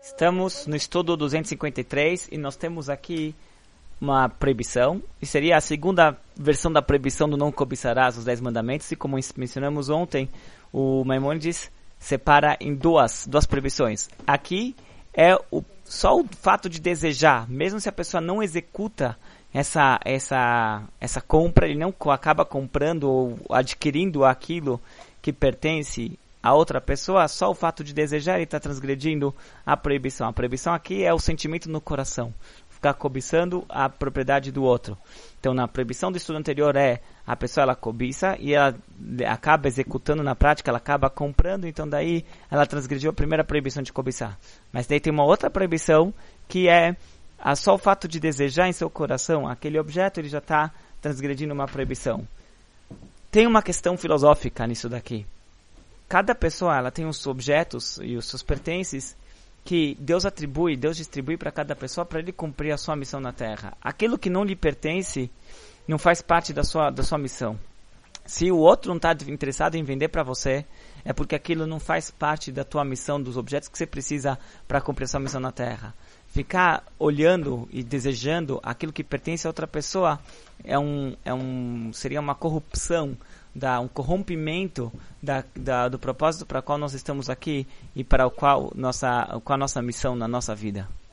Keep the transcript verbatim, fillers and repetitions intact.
Estamos no estudo duzentos e cinquenta e três e nós temos aqui uma proibição, e seria a segunda versão da proibição do não cobiçarás os dez mandamentos, e como mencionamos ontem, o Maimônides separa em duas, duas proibições. Aqui é o, só o fato de desejar, mesmo se a pessoa não executa essa, essa, essa compra, ele não acaba comprando ou adquirindo aquilo que pertence a outra pessoa, só o fato de desejar ele está transgredindo a proibição. A proibição aqui é o sentimento no coração, ficar cobiçando a propriedade do outro. Então, na proibição do estudo anterior é a pessoa ela cobiça e ela acaba executando na prática, ela acaba comprando, então daí ela transgrediu a primeira proibição de cobiçar. Mas daí tem uma outra proibição que é a só o fato de desejar em seu coração aquele objeto, ele já está transgredindo uma proibição. Tem uma questão filosófica nisso daqui. Cada pessoa ela tem os objetos e os seus pertences que Deus atribui, Deus distribui para cada pessoa para ele cumprir a sua missão na Terra. Aquilo que não lhe pertence não faz parte da sua, da sua missão. Se o outro não está interessado em vender para você, é porque aquilo não faz parte da tua missão, dos objetos que você precisa para cumprir a sua missão na Terra. Ficar olhando e desejando aquilo que pertence a outra pessoa é um, é um, seria uma corrupção, da, um corrompimento da, da, do propósito para o qual nós estamos aqui e para o qual nossa, qual a nossa missão na nossa vida.